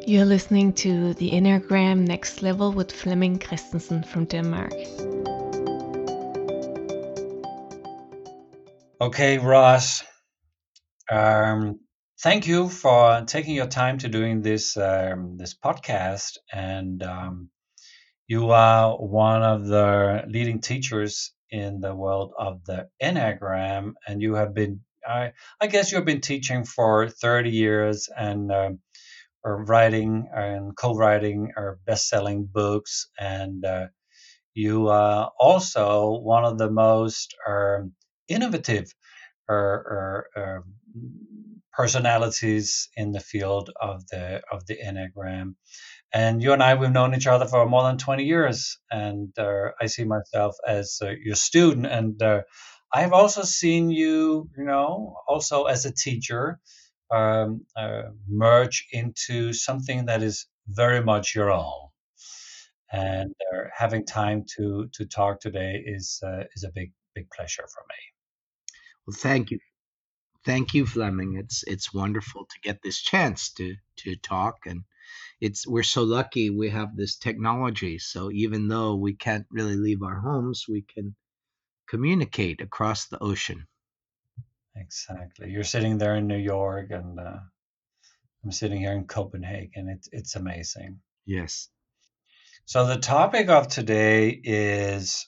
You're listening to the Enneagram Next Level with Flemming Christensen from Denmark. Okay, Ross. Thank you for taking your time to doing this podcast. And you are one of the leading teachers in the world of the Enneagram, and you have been. I guess you've been teaching for 30 years and or writing and co-writing or best-selling books, and you are also one of the most innovative personalities in the field of the Enneagram. And you and I, we've known each other for more than 20 years, and I see myself as your student. And I've also seen you, also as a teacher, merge into something that is very much your own. And having time to talk today is a big pleasure for me. Well, thank you, Fleming. It's wonderful to get this chance to talk, and we're so lucky we have this technology. So even though we can't really leave our homes, we can communicate across the ocean. Exactly. You're sitting there in New York, and I'm sitting here in Copenhagen. It's amazing. Yes. So the topic of today is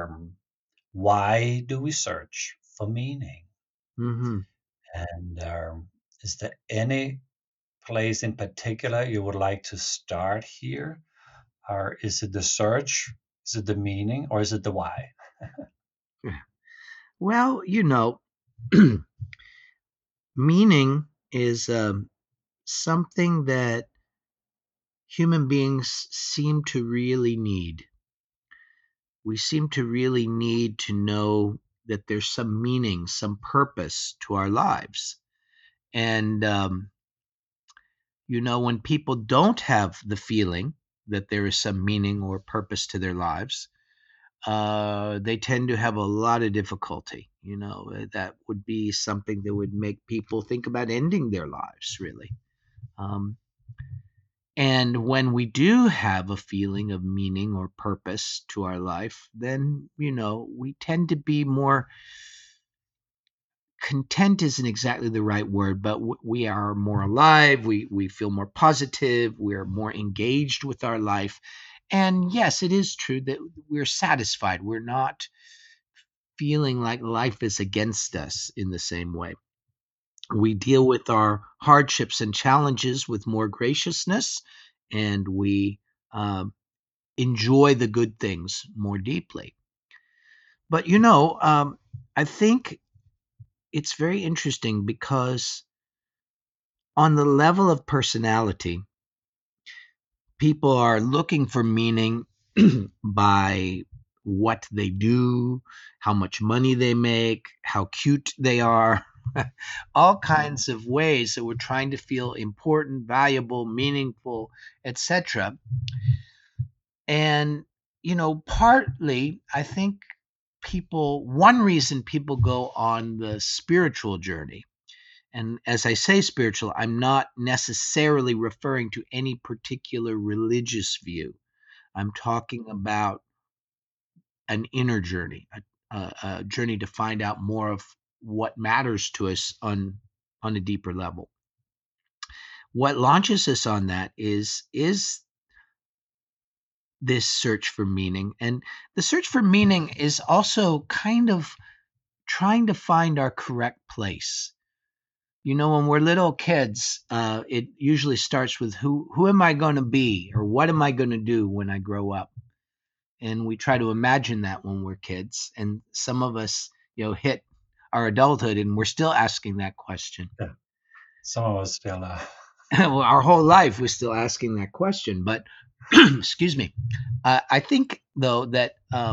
why do we search for meaning? Hmm. And is there any place in particular you would like to start here? Or is it the search? Is it the meaning? Or is it the why? Well, meaning is something that human beings seem to really need. We seem to really need to know that there's some meaning, some purpose to our lives. And, when people don't have the feeling that there is some meaning or purpose to their lives, they tend to have a lot of difficulty. That would be something that would make people think about ending their lives, really. Um, and when we do have a feeling of meaning or purpose to our life, then, we tend to be more content isn't exactly the right word, but we are more alive. We feel more positive. We're more engaged with our life. And yes, it is true that we're satisfied. We're not feeling like life is against us in the same way. We deal with our hardships and challenges with more graciousness, and we enjoy the good things more deeply. But, I think it's very interesting because on the level of personality, people are looking for meaning by what they do, how much money they make, how cute they are, all kinds of ways that we're trying to feel important, valuable, meaningful, etc. And, partly, I think one reason people go on the spiritual journey, and as I say spiritual, I'm not necessarily referring to any particular religious view. I'm talking about an inner journey, a journey to find out more of what matters to us on a deeper level. What launches us on that is this search for meaning, and the search for meaning is also kind of trying to find our correct place. When we're little kids, it usually starts with who am I going to be, or what am I going to do when I grow up? And we try to imagine that when we're kids. And some of us, hit our adulthood, and we're still asking that question. Yeah. Some of us still Well, our whole life, we're still asking that question. But excuse me, I think though that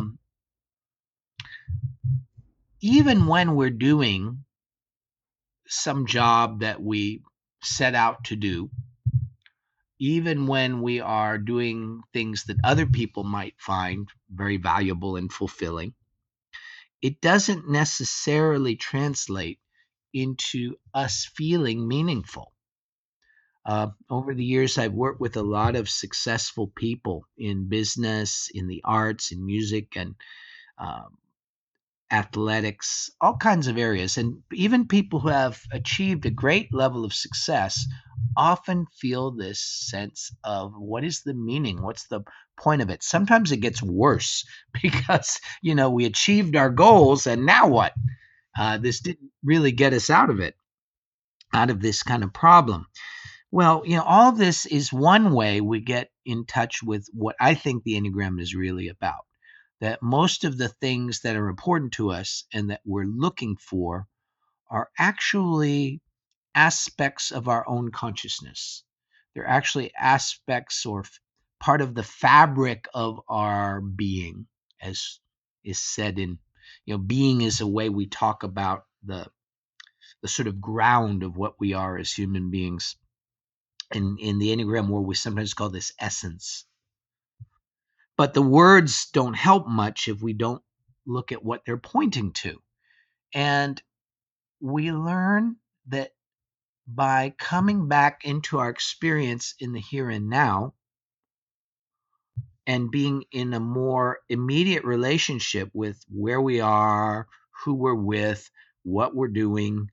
even when we're doing some job that we set out to do, even when we are doing things that other people might find very valuable and fulfilling, it doesn't necessarily translate into us feeling meaningful. Over the years, I've worked with a lot of successful people in business, in the arts, in music, and um, athletics, all kinds of areas. And even people who have achieved a great level of success often feel this sense of what is the meaning? What's the point of it? Sometimes it gets worse because, we achieved our goals and now what? This didn't really get us out of it, out of this kind of problem. Well, all of this is one way we get in touch with what I think the Enneagram is really about. That most of the things that are important to us and that we're looking for are actually aspects of our own consciousness. They're actually aspects or part of the fabric of our being, as is said in, being is a way we talk about the sort of ground of what we are as human beings. In the Enneagram world, we sometimes call this essence. But the words don't help much if we don't look at what they're pointing to. And we learn that by coming back into our experience in the here and now and being in a more immediate relationship with where we are, who we're with, what we're doing,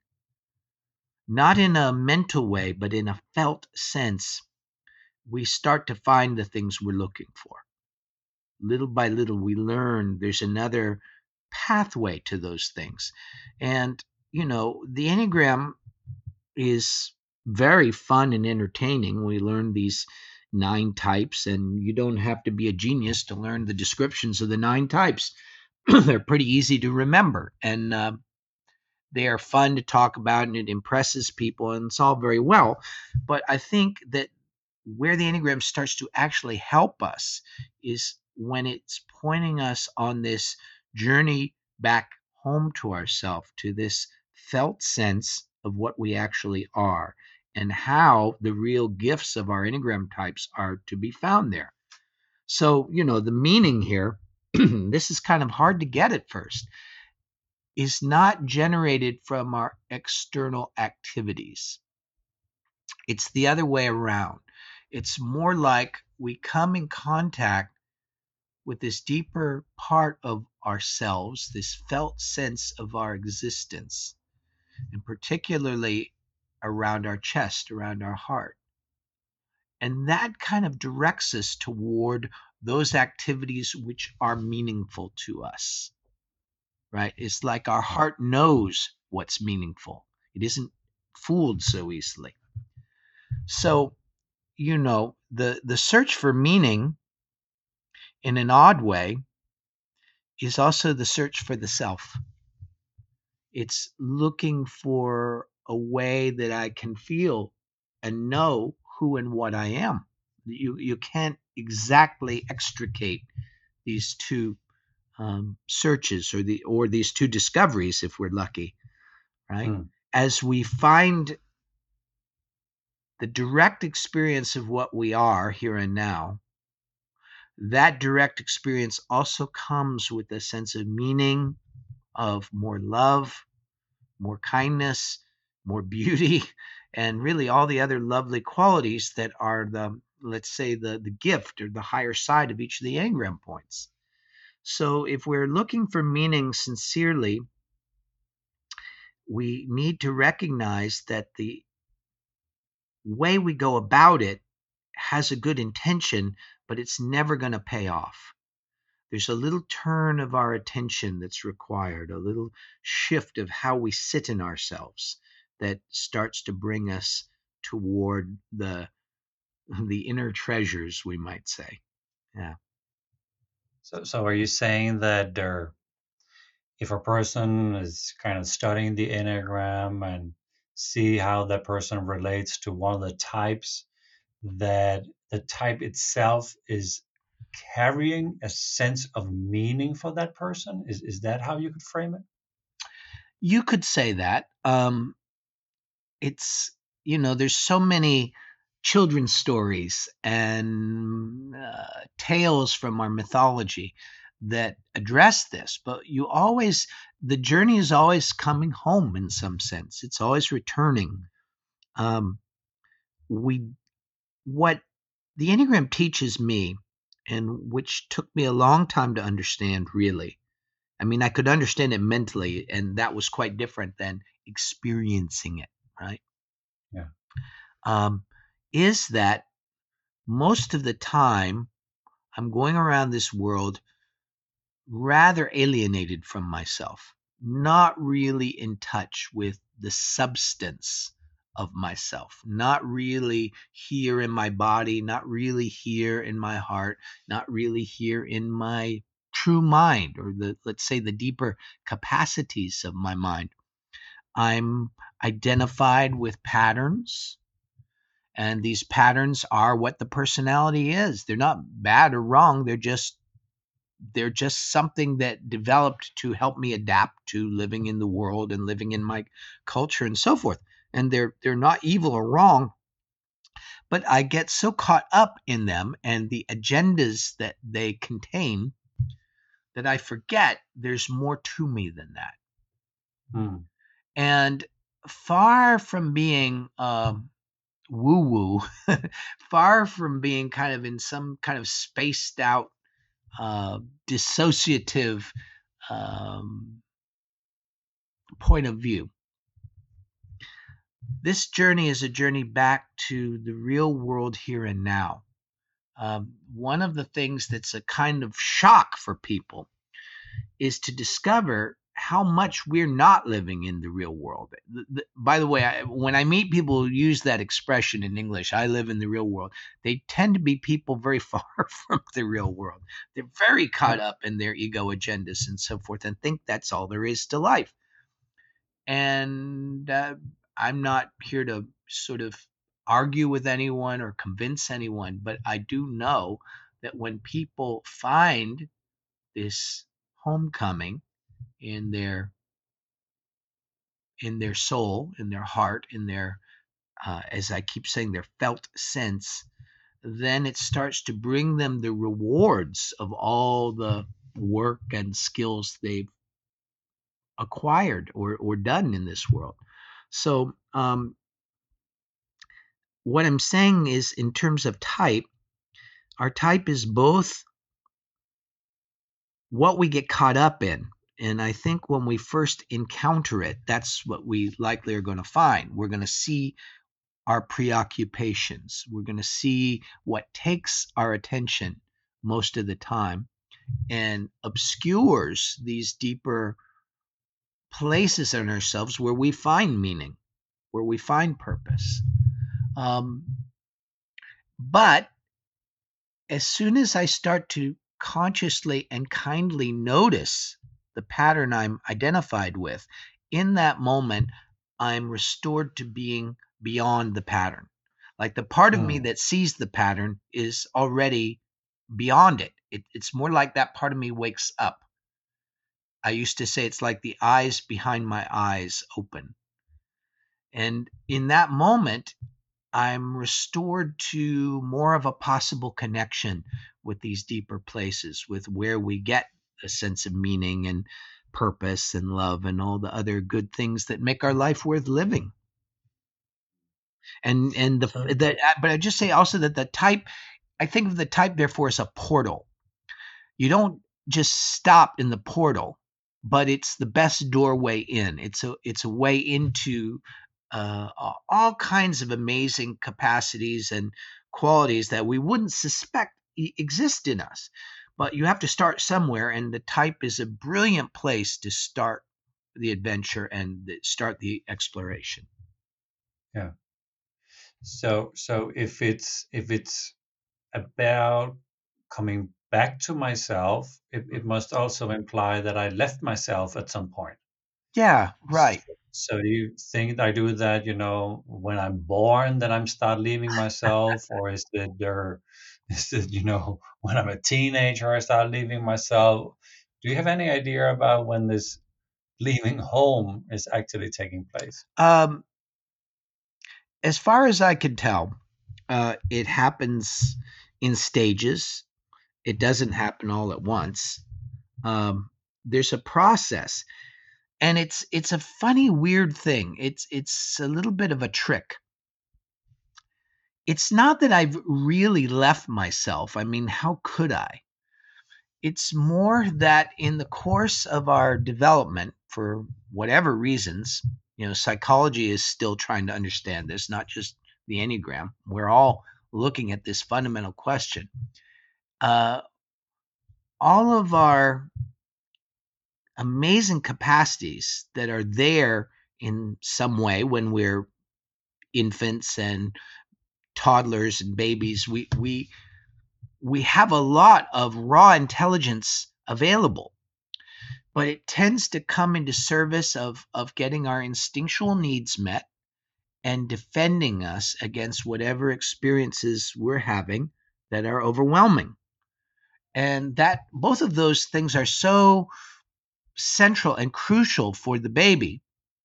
not in a mental way, but in a felt sense, we start to find the things we're looking for. Little by little, we learn there's another pathway to those things. And, the Enneagram is very fun and entertaining. We learn these 9 types, and you don't have to be a genius to learn the descriptions of the 9 types. They're pretty easy to remember, and they are fun to talk about, and it impresses people, and it's all very well. But I think that where the Enneagram starts to actually help us is when it's pointing us on this journey back home to ourselves, to this felt sense of what we actually are and how the real gifts of our Enneagram types are to be found there. So, the meaning here, this is kind of hard to get at first, is not generated from our external activities. It's the other way around. It's more like we come in contact with this deeper part of ourselves, this felt sense of our existence, and particularly around our chest, around our heart. And that kind of directs us toward those activities which are meaningful to us, right? It's like our heart knows what's meaningful. It isn't fooled so easily. So, the search for meaning in an odd way is also the search for the self. It's looking for a way that I can feel and know who and what I am. You can't exactly extricate these two searches or these two discoveries if we're lucky, right? As we find the direct experience of what we are here and now, that direct experience also comes with a sense of meaning, of more love, more kindness, more beauty, and really all the other lovely qualities that are let's say, the gift or the higher side of each of the Enneagram points. So if we're looking for meaning sincerely, we need to recognize that the way we go about it has a good intention, but it's never going to pay off. There's a little turn of our attention that's required, a little shift of how we sit in ourselves that starts to bring us toward the inner treasures, we might say. Yeah. So are you saying that if a person is kind of studying the Enneagram and see how that person relates to one of the types, that the type itself is carrying a sense of meaning for that person? Is that how you could frame it? You could say that. It's, there's so many children's stories and tales from our mythology that address this, but the journey is always coming home in some sense. It's always returning. what the Enneagram teaches me, and which took me a long time to understand, really. I mean, I could understand it mentally, and that was quite different than experiencing it, right? Yeah. Is that most of the time I'm going around this world rather alienated from myself, not really in touch with the substance of myself, not really here in my body, not really here in my heart, not really here in my true mind, or let's say the deeper capacities of my mind. I'm identified with patterns, and these patterns are what the personality is. They're not bad or wrong, they're just something that developed to help me adapt to living in the world and living in my culture and so forth. And they're not evil or wrong, but I get so caught up in them and the agendas that they contain that I forget there's more to me than that. Mm. And far from being woo woo, far from being kind of in some kind of spaced out, dissociative point of view, this journey is a journey back to the real world here and now. One of the things that's a kind of shock for people is to discover how much we're not living in the real world. By the way, when I meet people who use that expression in English, I live in the real world, they tend to be people very far from the real world. They're very caught up in their ego agendas and so forth and think that's all there is to life. And I'm not here to sort of argue with anyone or convince anyone, but I do know that when people find this homecoming in their soul, in their heart, in their as I keep saying, their felt sense, then it starts to bring them the rewards of all the work and skills they've acquired or done in this world. So what I'm saying is, in terms of type, our type is both what we get caught up in. And I think when we first encounter it, that's what we likely are going to find. We're going to see our preoccupations. We're going to see what takes our attention most of the time and obscures these deeper places in ourselves where we find meaning, where we find purpose. But as soon as I start to consciously and kindly notice the pattern I'm identified with, in that moment, I'm restored to being beyond the pattern. Like the part of me that sees the pattern is already beyond it. It's more like that part of me wakes up. I used to say it's like the eyes behind my eyes open. And in that moment, I'm restored to more of a possible connection with these deeper places, with where we get a sense of meaning and purpose and love and all the other good things that make our life worth living. But I just say also that the type, I think of the type therefore as a portal. You don't just stop in the portal, but it's the best doorway in. It's a way into all kinds of amazing capacities and qualities that we wouldn't suspect exist in us. But you have to start somewhere, and the type is a brilliant place to start the adventure and start the exploration. Yeah. So if it's about coming back to myself, it must also imply that I left myself at some point. Yeah, right. So you think I do that, when I'm born, that I'm start leaving myself, or is it when I'm a teenager I start leaving myself? Do you have any idea about when this leaving home is actually taking place? As far as I can tell, it happens in stages. It doesn't happen all at once. There's a process, and it's a funny, weird thing. It's a little bit of a trick. it's not that I've really left myself. I mean, how could I? It's more that in the course of our development, for whatever reasons, psychology is still trying to understand this, not just the Enneagram. We're all looking at this fundamental question. All of our amazing capacities that are there in some way when we're infants and toddlers and babies, we have a lot of raw intelligence available, but it tends to come into service of getting our instinctual needs met and defending us against whatever experiences we're having that are overwhelming. And that both of those things are so central and crucial for the baby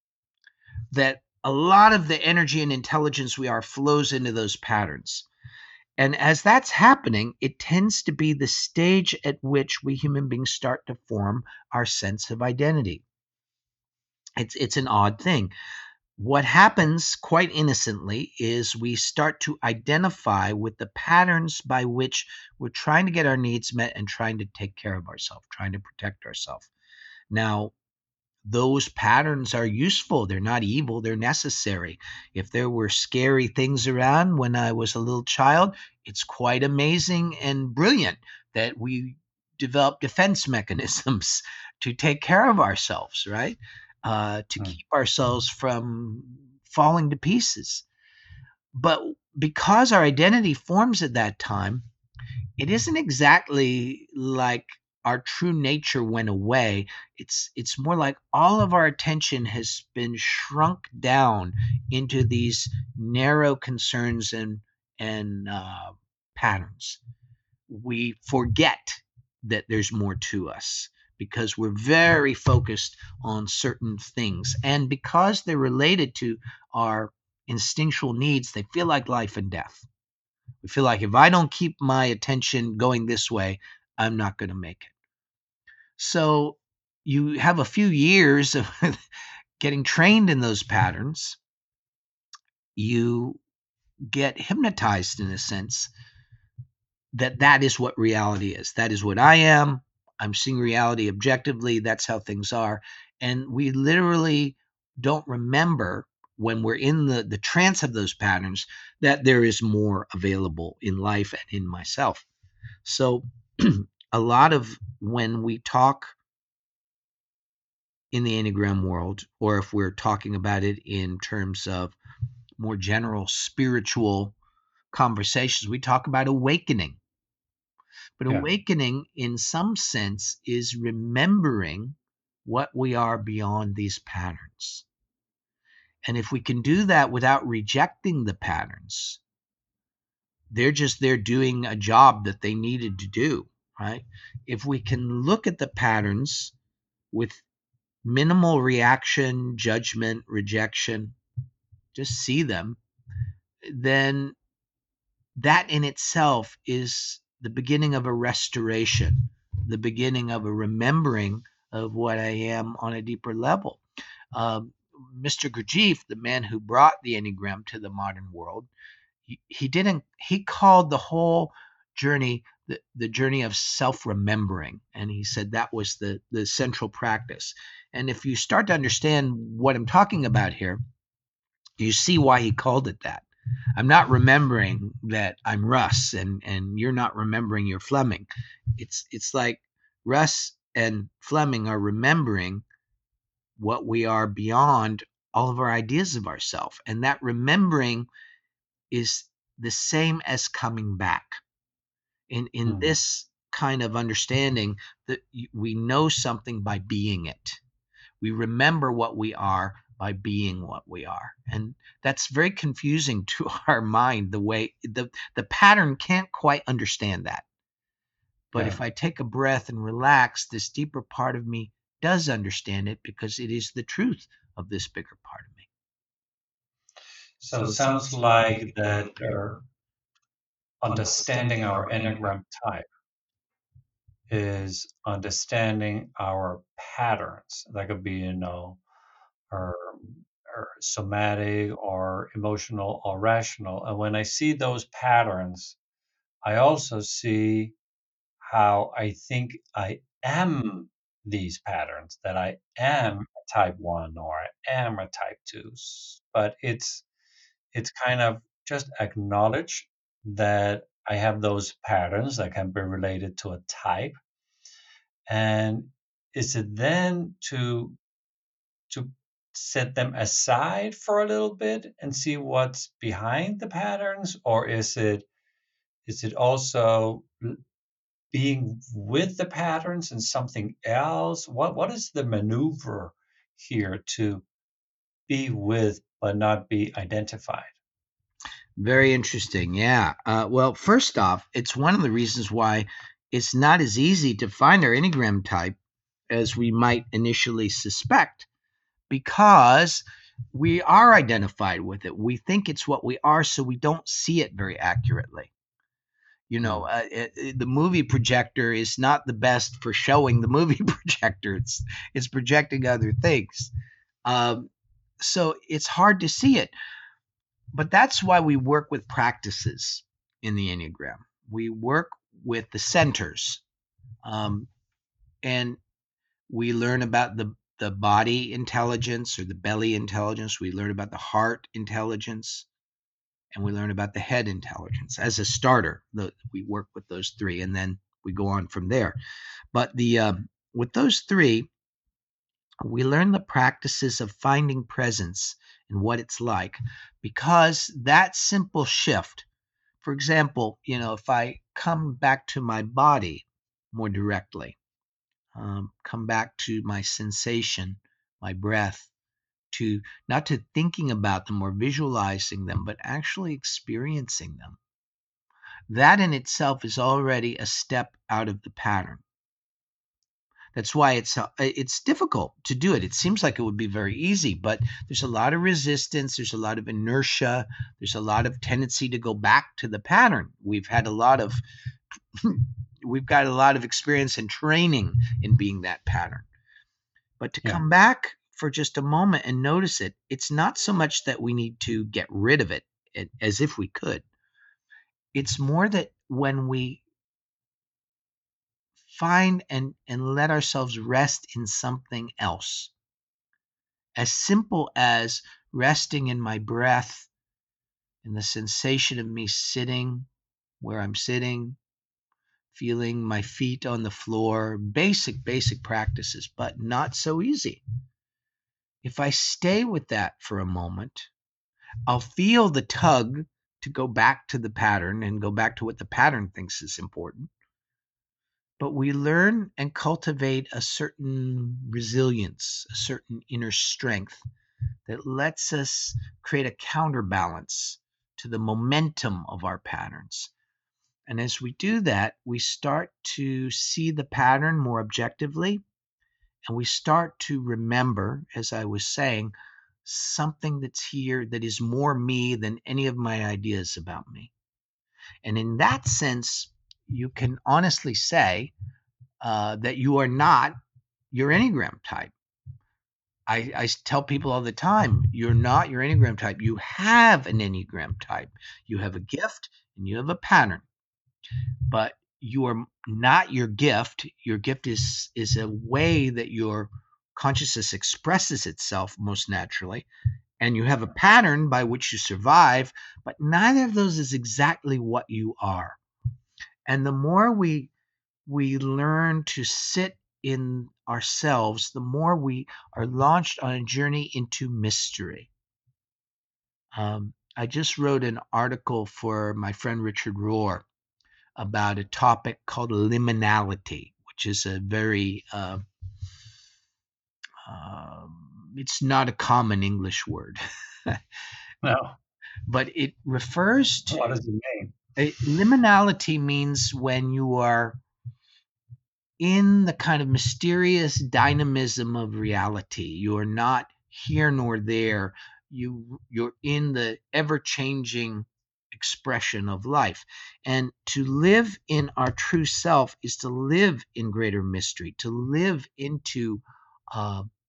that a lot of the energy and intelligence we are flows into those patterns. And as that's happening, it tends to be the stage at which we human beings start to form our sense of identity. It's an odd thing. What happens quite innocently is we start to identify with the patterns by which we're trying to get our needs met and trying to take care of ourselves, trying to protect ourselves. Now, those patterns are useful. They're not evil. They're necessary. If there were scary things around when I was a little child, it's quite amazing and brilliant that we develop defense mechanisms to take care of ourselves, right? To keep ourselves from falling to pieces. But because our identity forms at that time, it isn't exactly like our true nature went away. It's more like all of our attention has been shrunk down into these narrow concerns and patterns. We forget that there's more to us because we're very focused on certain things, and because they're related to our instinctual needs, they feel like life and death. We feel like if I don't keep my attention going this way, I'm not going to make it. So you have a few years of getting trained in those patterns. You get hypnotized in a sense that that is what reality is. That is what I am. I'm seeing reality objectively. That's how things are. And we literally don't remember when we're in the trance of those patterns that there is more available in life and in myself. So a lot of when we talk in the Enneagram world, or if we're talking about it in terms of more general spiritual conversations, we talk about awakening. But Yeah. awakening, in some sense, is remembering what we are beyond these patterns. And if we can do that without rejecting the patterns, they're just there doing a job that they needed to do, right? If we can look at the patterns with minimal reaction, judgment, rejection, just see them, then that in itself is the beginning of a restoration, the beginning of a remembering of what I am on a deeper level. Mr. Gurdjieff, the man who brought the Enneagram to the modern world, he called the whole journey the journey of self-remembering, and he said that was the central practice. And if you start to understand what I'm talking about here, you see why he called it that. I'm not remembering that I'm Russ and you're not remembering you're Fleming. It's like Russ and Fleming are remembering what we are beyond all of our ideas of ourselves. And that remembering is the same as coming back. In this kind of understanding, that we know something by being it. We remember what we are by being what we are. And that's very confusing to our mind, the way the pattern can't quite understand that. But Yeah. if I take a breath and relax, this deeper part of me does understand it because it is the truth of this bigger part of me. So it sounds like that understanding our Enneagram type is understanding our patterns. That could be, our somatic or emotional or rational. And when I see those patterns, I also see how I think I am these patterns, that I am a type 1 or I am a type 2. But it's kind of just acknowledge that I have those patterns that can be related to a type. And is it then to set them aside for a little bit and see what's behind the patterns, or is it also being with the patterns and something else? What is the maneuver here to be with but not be identified? Very interesting. Yeah. Well, first off, it's one of the reasons why it's not as easy to find our Enneagram type as we might initially suspect, because we are identified with it. We think it's what we are, so we don't see it very accurately. The movie projector is not the best for showing the movie projector. It's projecting other things. So it's hard to see it. But that's why we work with practices in the Enneagram. We work with the centers, and we learn about the body intelligence or the belly intelligence. We learn about the heart intelligence, and we learn about the head intelligence. As a starter, we work with those three, and then we go on from there. But with those three, we learn the practices of finding presence in what it's like, because that simple shift, for example, if I come back to my body more directly, come back to my sensation, my breath, to not to thinking about them or visualizing them, but actually experiencing them. That in itself is already a step out of the pattern. That's why it's difficult to do it. It seems like it would be very easy, but there's a lot of resistance. There's a lot of inertia. There's a lot of tendency to go back to the pattern. We've got a lot of experience and training in being that pattern. But to come back for just a moment and notice it, it's not so much that we need to get rid of it as if we could. It's more that when we find and let ourselves rest in something else, as simple as resting in my breath and the sensation of me sitting where I'm sitting, feeling my feet on the floor, basic practices, but not so easy. If I stay with that for a moment, I'll feel the tug to go back to the pattern and go back to what the pattern thinks is important. But we learn and cultivate a certain resilience, a certain inner strength that lets us create a counterbalance to the momentum of our patterns. And as we do that, we start to see the pattern more objectively, and we start to remember, as I was saying, something that's here that is more me than any of my ideas about me. And in that sense, you can honestly say that you are not your Enneagram type. I tell people all the time, you're not your Enneagram type. You have an Enneagram type. You have a gift and you have a pattern. But you are not your gift. Your gift is a way that your consciousness expresses itself most naturally. And you have a pattern by which you survive, but neither of those is exactly what you are. And the more we learn to sit in ourselves, the more we are launched on a journey into mystery. I just wrote an article for my friend Richard Rohr about a topic called liminality, which is a very, it's not a common English word. No. But it refers to... What does it mean? Liminality means when you are in the kind of mysterious dynamism of reality. You're not here nor there. You're in the ever-changing expression of life. And to live in our true self is to live in greater mystery, to live into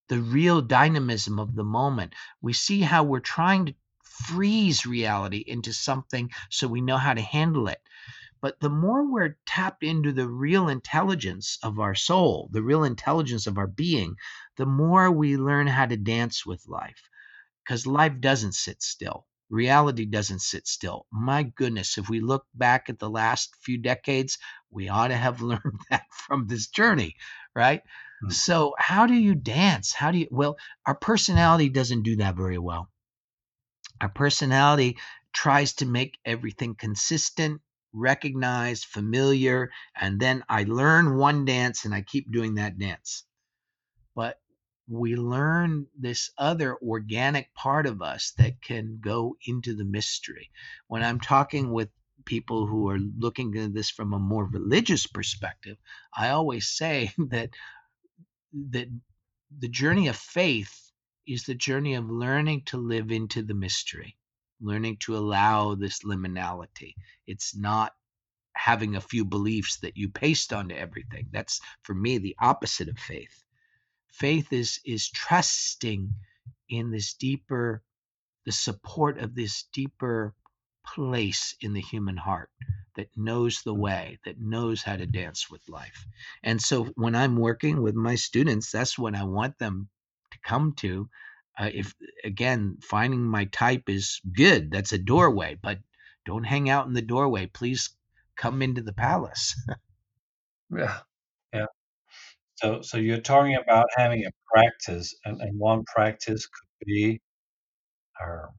the real dynamism of the moment. We see how we're trying to freeze reality into something so we know how to handle it. But the more we're tapped into the real intelligence of our soul, the real intelligence of our being, the more we learn how to dance with life. Because life doesn't sit still. Reality doesn't sit still. My goodness, if we look back at the last few decades, we ought to have learned that from this journey, right? Mm. So, how do you dance? Well, our personality doesn't do that very well. Our personality tries to make everything consistent, recognized, familiar, and then I learn one dance and I keep doing that dance. But we learn this other organic part of us that can go into the mystery. When I'm talking with people who are looking at this from a more religious perspective, I always say that the journey of faith is the journey of learning to live into the mystery, learning to allow this liminality. It's not having a few beliefs that you paste onto everything. That's, for me, the opposite of faith. Faith is trusting in this deeper, the support of this deeper place in the human heart that knows the way, that knows how to dance with life. And so when I'm working with my students, that's what I want them to come to. If again, finding my type is good, that's a doorway, but don't hang out in the doorway. Please come into the palace. Yeah. Yeah. So you're talking about having a practice, and one practice could be uh,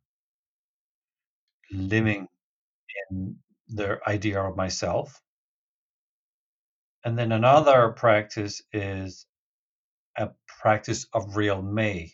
living in the idea of myself. And then another practice is a practice of real me.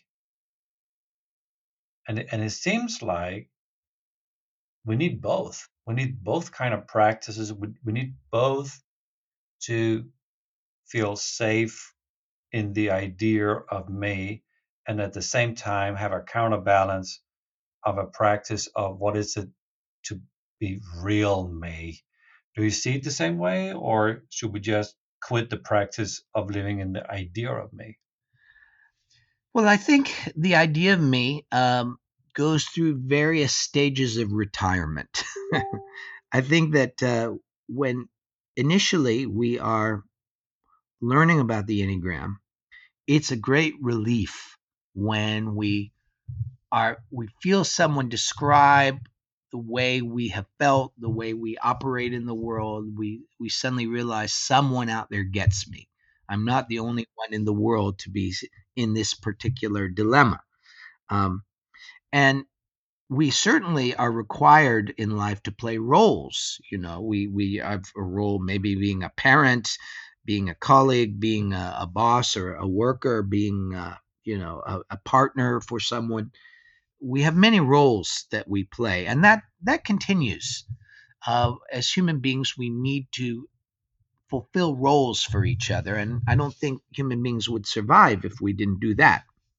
And it seems like we need both. We need both kind of practices. We need both to feel safe in the idea of me, and at the same time have a counterbalance of a practice of what is it to be real me. Do you see it the same way, or should we just quit the practice of living in the idea of me? Well, I think the idea of me goes through various stages of retirement. I think that when initially we are learning about the Enneagram, it's a great relief when we feel someone describe the way we have felt, the way we operate in the world. We suddenly realize someone out there gets me. I'm not the only one in the world to be in this particular dilemma. Um, and we certainly are required in life to play roles. We have a role, maybe being a parent, being a colleague, being a boss or a worker, being a partner for someone. We have many roles that we play, and that continues. As human beings, we need to fulfill roles for each other, and I don't think human beings would survive if we didn't do that.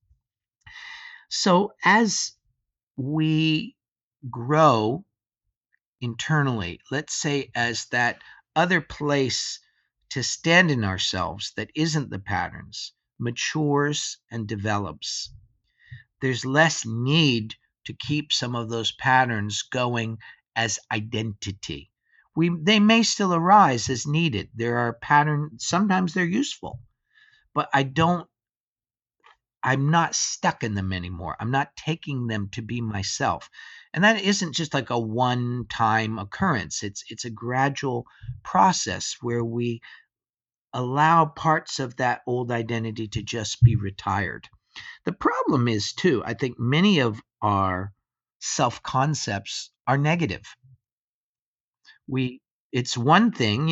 So as we grow internally, let's say as that other place to stand in ourselves that isn't the patterns matures and develops, there's less need to keep some of those patterns going as identity. They may still arise as needed. There are patterns, sometimes they're useful, but I'm not stuck in them anymore. I'm not taking them to be myself. And that isn't just like a one-time occurrence. It's a gradual process where we allow parts of that old identity to just be retired. The problem is too, I think many of our self-concepts are negative. It's one thing,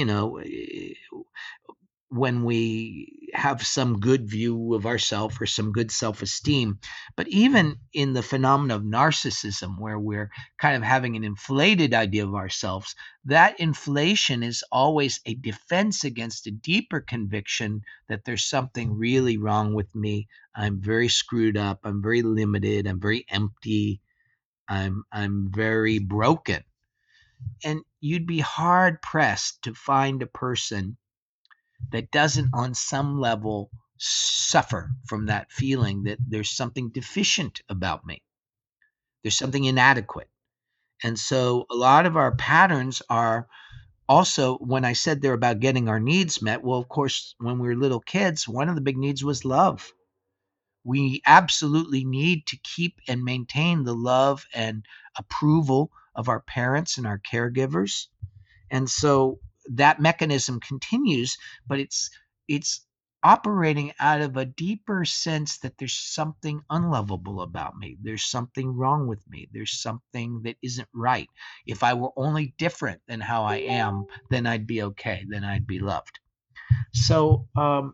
when we have some good view of ourselves or some good self-esteem. But even in the phenomenon of narcissism, where we're kind of having an inflated idea of ourselves, that inflation is always a defense against a deeper conviction that there's something really wrong with me. I'm very screwed up. I'm very limited. I'm very empty. I'm very broken. And you'd be hard pressed to find a person that doesn't on some level suffer from that feeling that there's something deficient about me. There's something inadequate. And so a lot of our patterns are also, when I said they're about getting our needs met, well, of course, when we were little kids, one of the big needs was love. We absolutely need to keep and maintain the love and approval of our parents and our caregivers. And so that mechanism continues, but it's operating out of a deeper sense that there's something unlovable about me. There's something wrong with me. There's something that isn't right. If I were only different than how I am, then I'd be okay. Then I'd be loved. So,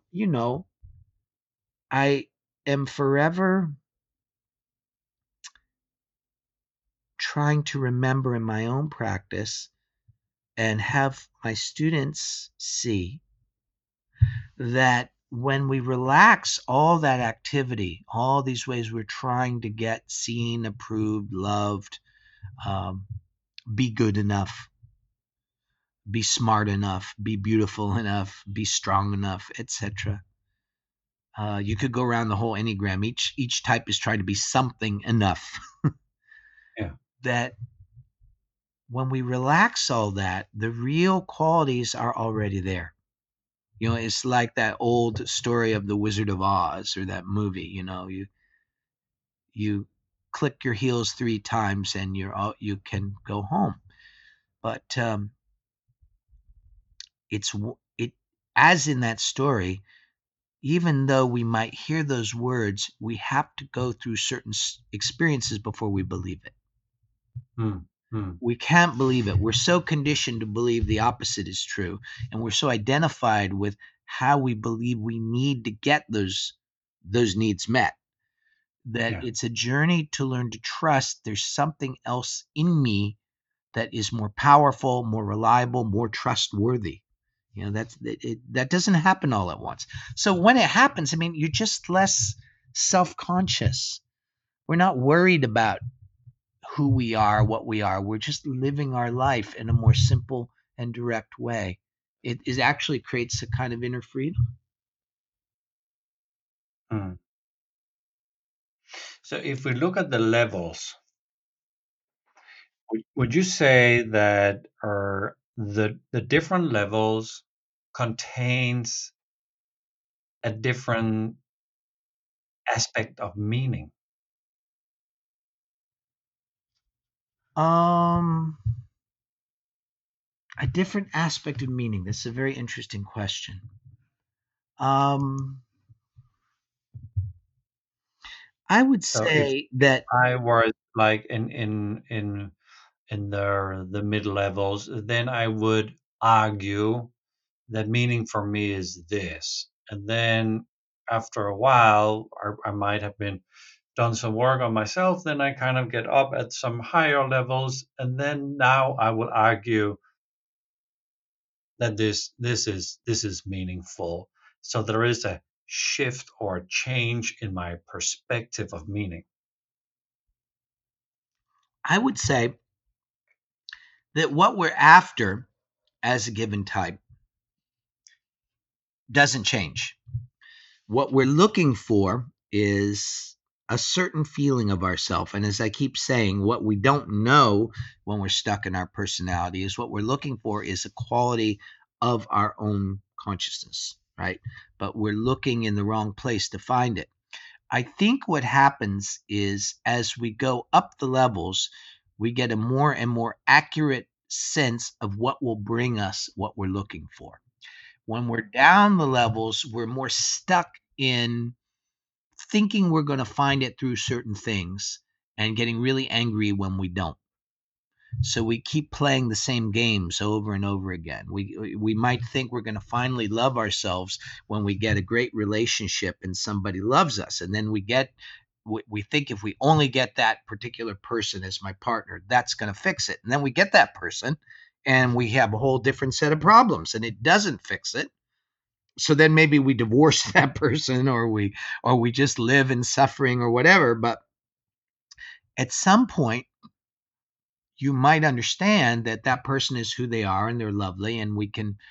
I am forever trying to remember in my own practice and have my students see that when we relax all that activity, all these ways we're trying to get seen, approved, loved, um, be good enough, be smart enough, be beautiful enough, be strong enough, etc. You could go around the whole Enneagram. Each type is trying to be something enough. Yeah. That when we relax all that, the real qualities are already there. It's like that old story of the Wizard of Oz, or that movie. You click your heels 3 times and you can go home. But it as in that story, even though we might hear those words, we have to go through certain experiences before we believe it. We can't believe it. We're so conditioned to believe the opposite is true, and we're so identified with how we believe we need to get those needs met, that it's a journey to learn to trust there's something else in me that is more powerful, more reliable, more trustworthy. That doesn't happen all at once. So when it happens, you're just less self-conscious. We're not worried about who we are, what we are. We're just living our life in a more simple and direct way. It actually creates a kind of inner freedom. So if we look at the levels, would you say that the different levels contains a different aspect of meaning? A different aspect of meaning. That's a very interesting question. I would say that I was like in the mid levels, then I would argue that meaning for me is this. And then after a while, I might have been done some work on myself, then I kind of get up at some higher levels, and then now I will argue that this is meaningful. So there is a shift or a change in my perspective of meaning. I would say that what we're after as a given type doesn't change. What we're looking for is a certain feeling of ourself. And as I keep saying, what we don't know when we're stuck in our personality is what we're looking for is a quality of our own consciousness, right? But we're looking in the wrong place to find it. I think what happens is as we go up the levels, we get a more and more accurate sense of what will bring us what we're looking for. When we're down the levels, we're more stuck in thinking we're going to find it through certain things and getting really angry when we don't. So we keep playing the same games over and over again. We might think we're going to finally love ourselves when we get a great relationship and somebody loves us, and then we think if we only get that particular person as my partner, that's going to fix it. And then we get that person and we have a whole different set of problems and it doesn't fix it. So then maybe we divorce that person or we just live in suffering or whatever. But at some point, you might understand that that person is who they are and they're lovely, and we can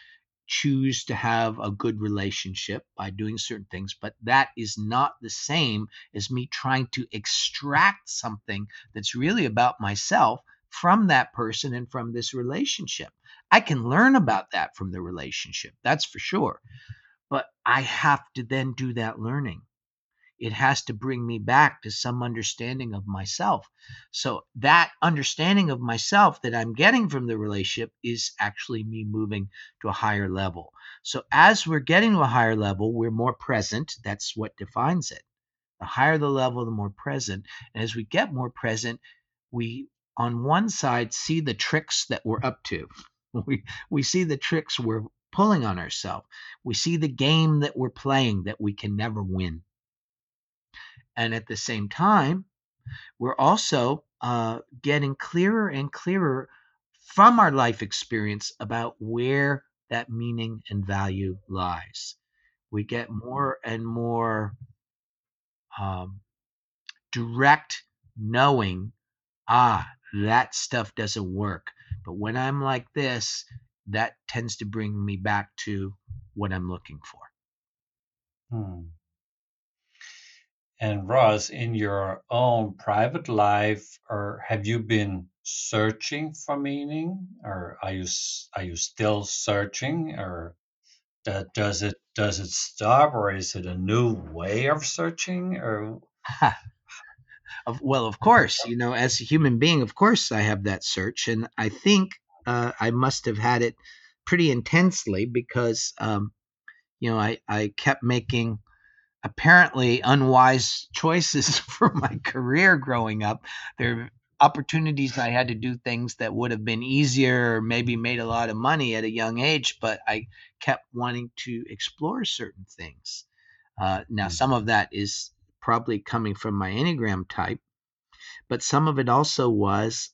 choose to have a good relationship by doing certain things, but that is not the same as me trying to extract something that's really about myself from that person and from this relationship. I can learn about that from the relationship, that's for sure, but I have to then do that learning. It has to bring me back to some understanding of myself. So that understanding of myself that I'm getting from the relationship is actually me moving to a higher level. So as we're getting to a higher level, we're more present. That's what defines it. The higher the level, the more present. And as we get more present, we, on one side, see the tricks that we're up to. We see the tricks we're pulling on ourselves. We see the game that we're playing that we can never win. And at the same time, we're also getting clearer and clearer from our life experience about where that meaning and value lies. We get more and more um, direct knowing, that stuff doesn't work. But when I'm like this, that tends to bring me back to what I'm looking for. Hmm. And Ross, in your own private life, or have you been searching for meaning, or are you still searching, or does it stop, or is it a new way of searching, or Well, of course, as a human being, of course, I have that search, and I think I must have had it pretty intensely because I kept making apparently unwise choices for my career growing up. There are opportunities I had to do things that would have been easier or maybe made a lot of money at a young age, but I kept wanting to explore certain things. Now, Hmm. some of that is probably coming from my Enneagram type, but some of it also was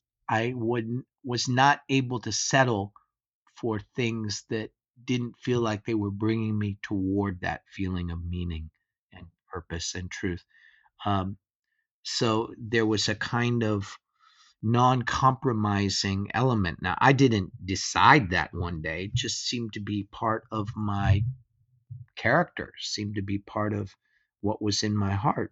was not able to settle for things that didn't feel like they were bringing me toward that feeling of meaning and purpose and truth. Um, so there was a kind of non-compromising element. Now, I didn't decide that one day; it just seemed to be part of my character, seemed to be part of what was in my heart.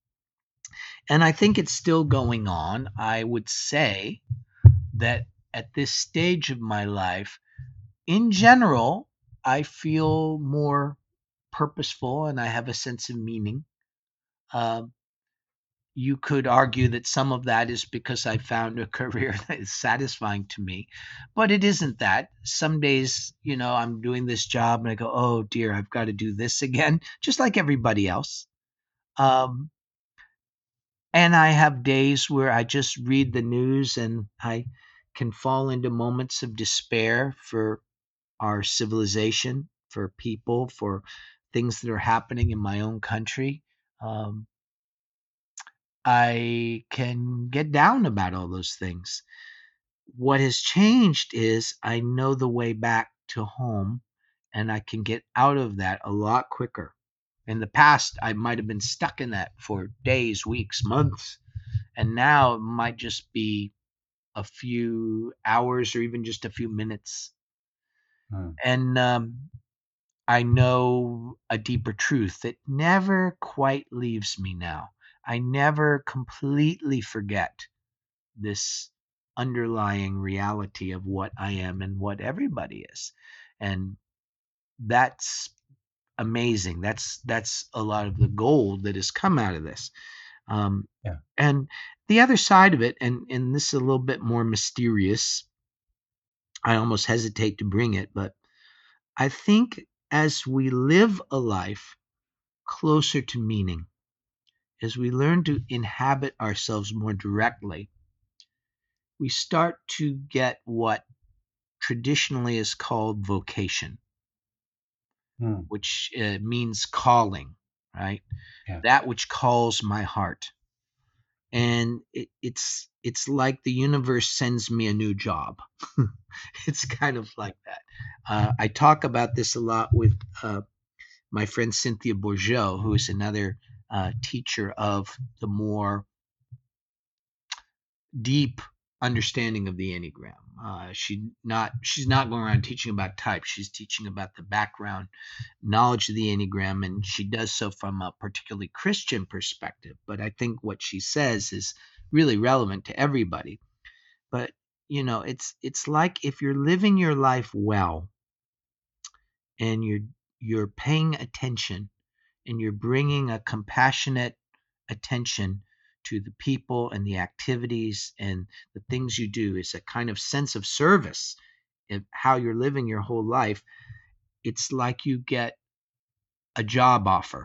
And I think it's still going on. I would say that at this stage of my life, in general, I feel more purposeful and I have a sense of meaning. Uh, you could argue that some of that is because I found a career that is satisfying to me, but it isn't that. Some days, I'm doing this job and I go, oh dear, I've got to do this again, just like everybody else. Um, and I have days where I just read the news and I can fall into moments of despair for our civilization, for people, for things that are happening in my own country. Um, I can get down about all those things. What has changed is I know the way back to home and I can get out of that a lot quicker. In the past, I might have been stuck in that for days, weeks, months, and now it might just be a few hours or even just a few minutes. Hmm. And I know a deeper truth that never quite leaves me now. I never completely forget this underlying reality of what I am and what everybody is. And that's amazing. That's a lot of the gold that has come out of this. Um, Yeah. and the other side of it, and this is a little bit more mysterious. I almost hesitate to bring it, but I think as we live a life closer to meaning, as we learn to inhabit ourselves more directly, we start to get what traditionally is called vocation, Hmm. which means calling, right? Yeah. That which calls my heart. And it's like the universe sends me a new job. It's kind of like that. I talk about this a lot with my friend Cynthia Bourgeau, who is another teacher of the more deep understanding of the Enneagram. She's not going around teaching about types. She's teaching about the background knowledge of the Enneagram, and she does so from a particularly Christian perspective. But I think what she says is really relevant to everybody. But it's like if you're living your life well, and you're paying attention, and you're bringing a compassionate attention to the people and the activities and the things you do, is a kind of sense of service in how you're living your whole life. It's like you get a job offer.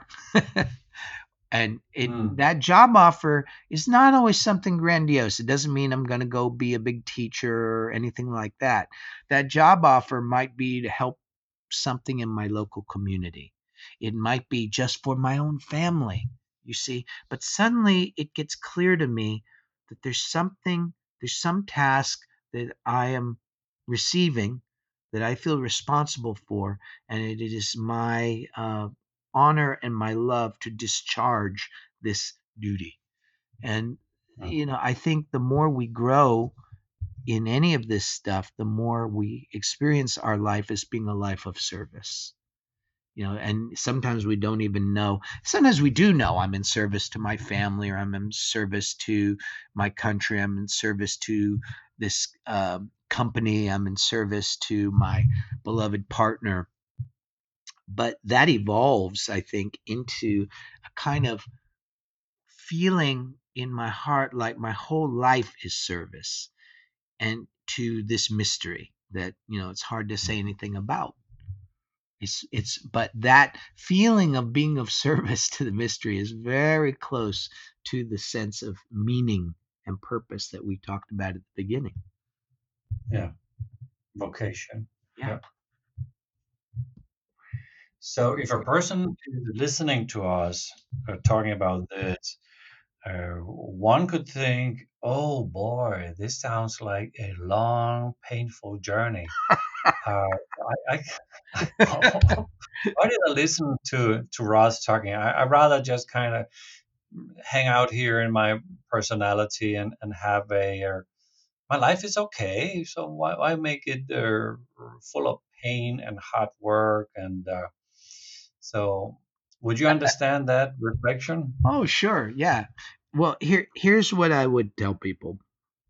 And that job offer is not always something grandiose. It doesn't mean I'm going to go be a big teacher or anything like that. That job offer might be to help something in my local community. It might be just for my own family, you see. But suddenly it gets clear to me that there's some task that I am receiving that I feel responsible for, and it is my honor and my love to discharge this duty. And I think the more we grow in any of this stuff, the more we experience our life as being a life of service. And sometimes we don't even know. Sometimes we do know I'm in service to my family, or I'm in service to my country, I'm in service to this company, I'm in service to my beloved partner. But that evolves, I think, into a kind of feeling in my heart like my whole life is service, and to this mystery that it's hard to say anything about. But that feeling of being of service to the mystery is very close to the sense of meaning and purpose that we talked about at the beginning. Yeah, vocation. Yeah. So if a person is listening to us talking about this, one could think, oh boy, this sounds like a long, painful journey. Why did I listen to Ross talking? I'd rather just kind of hang out here in my personality and have my life is okay. So why make it full of pain and hard work? And so would you understand that reflection? Oh, sure. Yeah. Well, here's what I would tell people.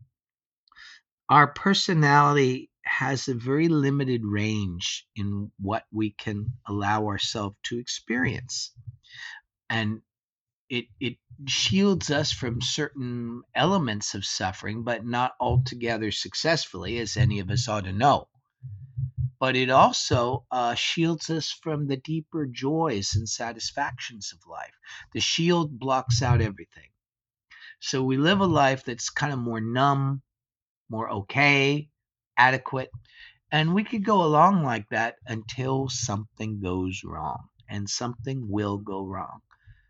Our personality has a very limited range in what we can allow ourselves to experience. And it shields us from certain elements of suffering, but not altogether successfully, as any of us ought to know. But it also shields us from the deeper joys and satisfactions of life. The shield blocks out everything. So we live a life that's kind of more numb, more okay, adequate. And we could go along like that until something goes wrong, and something will go wrong.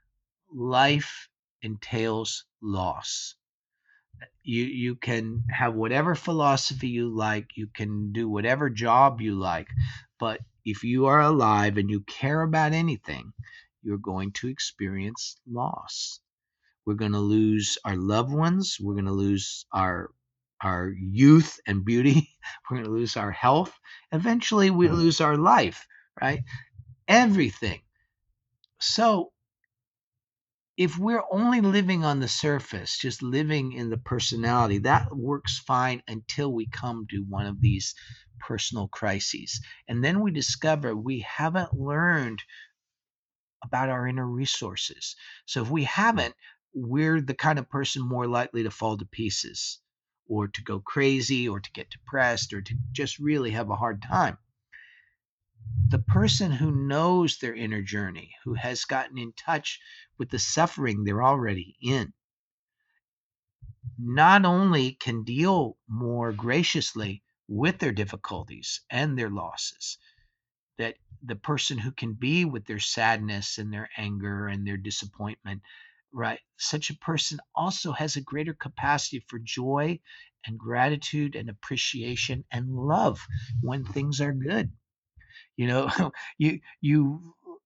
Life entails loss. You can have whatever philosophy you like, you can do whatever job you like, but if you are alive and you care about anything, you're going to experience loss. We're going to lose our loved ones. We're going to lose our youth and beauty. We're going to lose our health. Eventually, we lose our life, right? Everything. So if we're only living on the surface, just living in the personality, that works fine until we come to one of these personal crises. And then we discover we haven't learned about our inner resources. So if we haven't, we're the kind of person more likely to fall to pieces, or to go crazy, or to get depressed, or to just really have a hard time. The person who knows their inner journey, who has gotten in touch with the suffering they're already in, not only can deal more graciously with their difficulties and their losses, that the person who can be with their sadness and their anger and their disappointment, right? Such a person also has a greater capacity for joy and gratitude and appreciation and love when things are good. you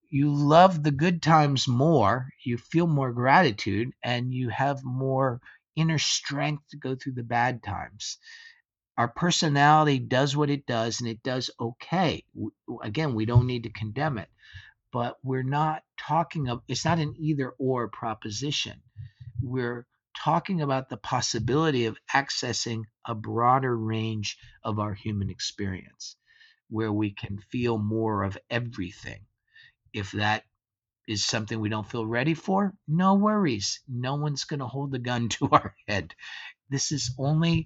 love the good times more, you feel more gratitude, and you have more inner strength to go through the bad times. Our personality does what it does, and it does okay. Again, we don't need to condemn it, but we're not talking of, it's not an either or proposition. We're talking about the possibility of accessing a broader range of our human experience where we can feel more of everything. If that is something we don't feel ready for, no worries. No one's going to hold the gun to our head. This only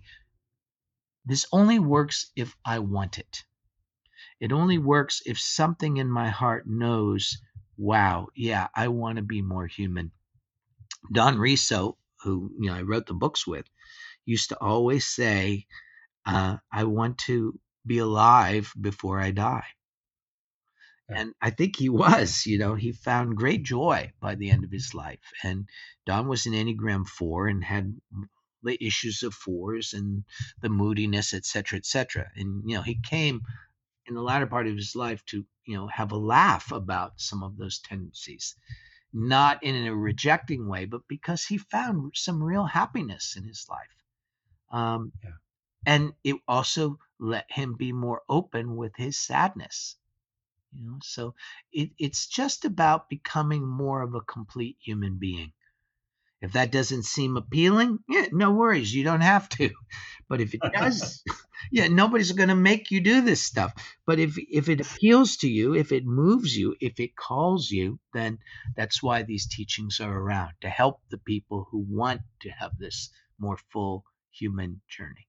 works if I want it. It only works if something in my heart knows, wow, yeah, I want to be more human. Don Riso, who I wrote the books with, used to always say, I want to be alive before I die. Yeah. And I think he was, he found great joy by the end of his life. And Don was an Enneagram 4 and had the issues of 4s and the moodiness, et cetera, et cetera. And, he came in the latter part of his life to, have a laugh about some of those tendencies, not in a rejecting way, but because he found some real happiness in his life. Yeah. And it also let him be more open with his sadness. So it's just about becoming more of a complete human being. If that doesn't seem appealing, yeah, no worries, you don't have to. But if it does, yeah, nobody's going to make you do this stuff. But if it appeals to you, if it moves you, if it calls you, then that's why these teachings are around, to help the people who want to have this more full human journey.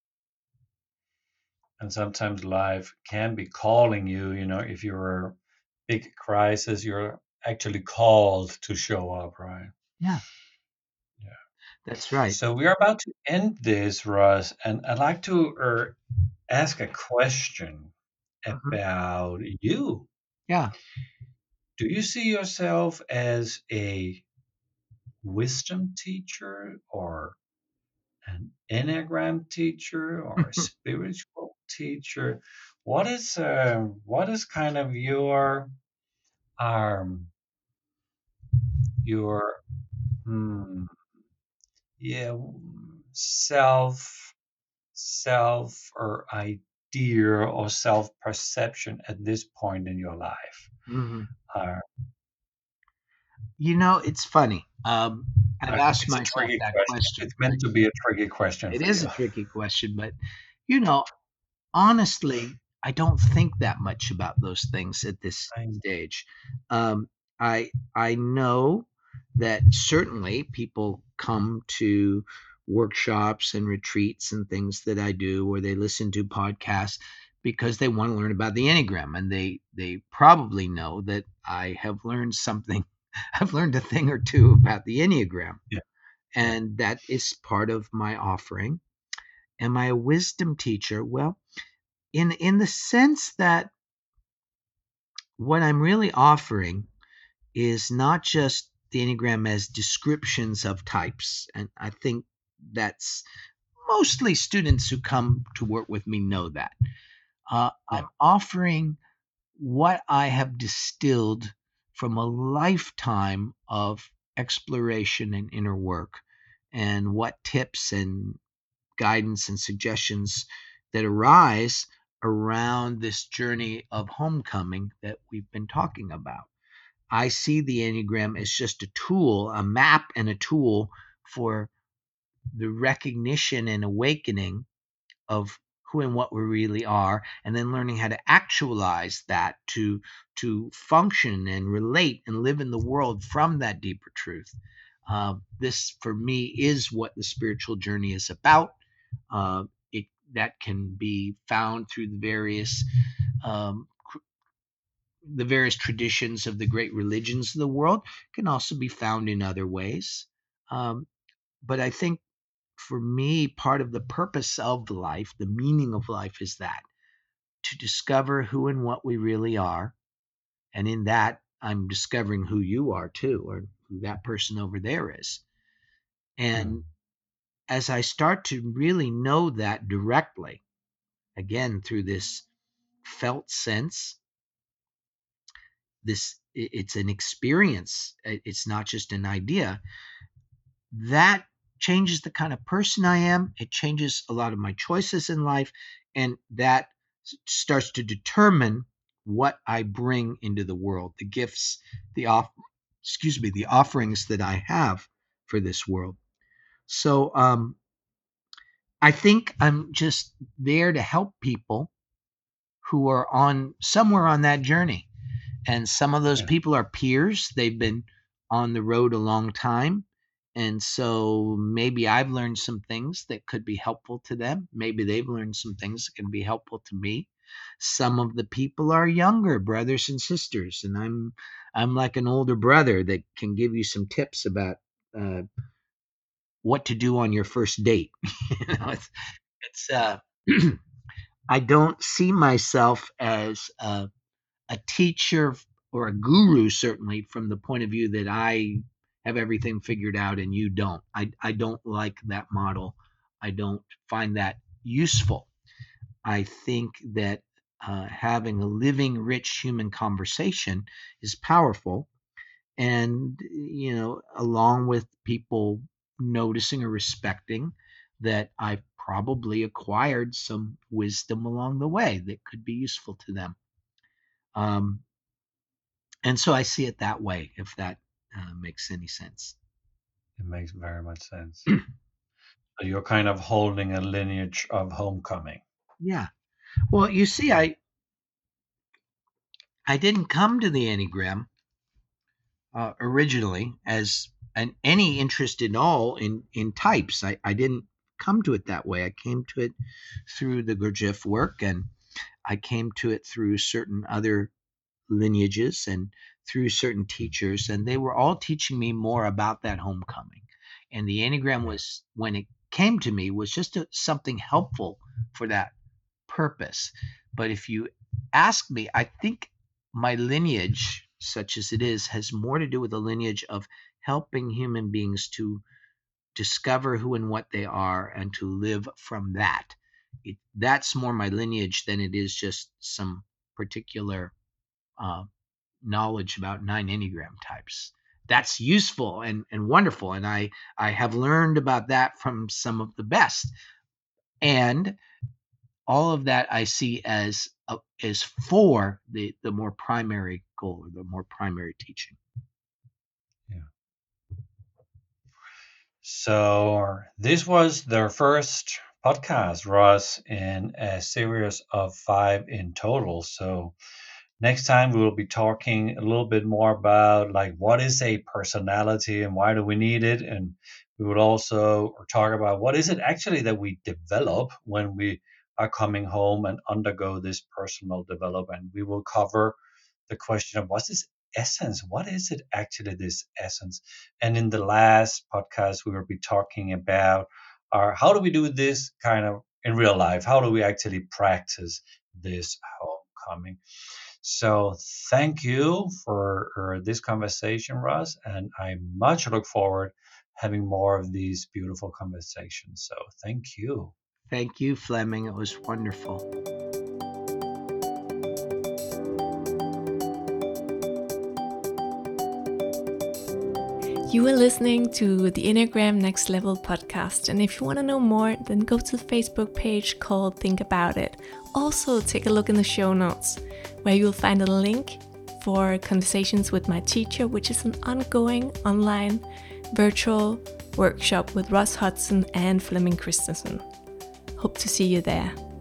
And sometimes life can be calling you, if you're a big crisis, you're actually called to show up, right? Yeah. Yeah. That's right. So we're about to end this, Russ, and I'd like to ask a question about you. Yeah. Do you see yourself as a wisdom teacher or an Enneagram teacher or a spiritual teacher? What is kind of um your hmm, yeah self or idea or self perception at this point in your life? Mm-hmm. Uh, It's funny. I've asked it's a myself tricky that question. question. It's meant to be a tricky question It for is you. a tricky question, but you know, honestly, I don't think that much about those things at this I- stage. Um, I know that certainly people come to workshops and retreats and things that I do, or they listen to podcasts because they want to learn about the Enneagram, and they probably know that I have learned something. I've learned a thing or two about the Enneagram, yeah, yeah. and that is part of my offering. Am I a wisdom teacher? Well, in the sense that what I'm really offering is not just the Enneagram as descriptions of types, and I think that's mostly students who come to work with me know that. Yeah. I'm offering what I have distilled from a lifetime of exploration and inner work, and what tips and guidance and suggestions that arise around this journey of homecoming that we've been talking about. I see the Enneagram as just a tool, a map and a tool for the recognition and awakening of who and what we really are, and then learning how to actualize that to function and relate and live in the world from that deeper truth. This, for me, is what the spiritual journey is about. It that can be found through um, the various traditions of the great religions of the world. Can also be found in other ways. Um, but I think for me, part of the purpose of life, the meaning of life, is that to discover who and what we really are. And in that, I'm discovering who you are too, or who that person over there is. Hmm. And as I start to really know that directly, again, through this felt sense, it's an experience, it's not just an idea, that changes the kind of person I am. It changes a lot of my choices in life, and that starts to determine what I bring into the world, the gifts, the offerings that I have for this world. So I think I'm just there to help people who are somewhere on that journey. And some of those people are peers. They've been on the road a long time. And so maybe I've learned some things that could be helpful to them. Maybe they've learned some things that can be helpful to me. Some of the people are younger brothers and sisters, and I'm like an older brother that can give you some tips about what to do on your first date. It's I don't see myself as a teacher or a guru, certainly from the point of view that I have everything figured out and you don't. I don't like that model. I don't find that useful. I think that having a living, rich human conversation is powerful. And, along with people noticing or respecting that I've probably acquired some wisdom along the way that could be useful to them. And so I see it that way, if that makes any sense. It makes very much sense. So you're kind of holding a lineage of homecoming. Yeah. Well, you see, I didn't come to the Enneagram originally as any interest at all in types. I didn't come to it that way. I came to it through the Gurdjieff work, and I came to it through certain other lineages and through certain teachers, and they were all teaching me more about that homecoming. And the Enneagram was, when it came to me, was just something helpful for that purpose. But if you ask me, I think my lineage, such as it is, has more to do with the lineage of helping human beings to discover who and what they are and to live from that. That's more my lineage than it is just some particular knowledge about 9 Enneagram types. That's useful and wonderful, and I have learned about that from some of the best. And all of that I see as for the more primary goal, or the more primary teaching. Yeah. So this was their first podcast, Ross, in a series of 5 in total. So next time we will be talking a little bit more about like what is a personality and why do we need it, and we would also talk about what is it actually that we develop when we are coming home and undergo this personal development. We will cover the question of what's this essence? What is it actually, this essence? And in the last podcast, we will be talking about how do we do this kind of in real life? How do we actually practice this homecoming? So thank you for this conversation, Russ, and I much look forward having more of these beautiful conversations. So thank you. Thank you, Fleming. It was wonderful. You are listening to the Enneagram Next Level podcast, and if you want to know more, then go to the Facebook page called Think About It. Also, take a look in the show notes, where you will find a link for conversations with my teacher, which is an ongoing online virtual workshop with Ross Hudson and Flemming Christensen. Hope to see you there.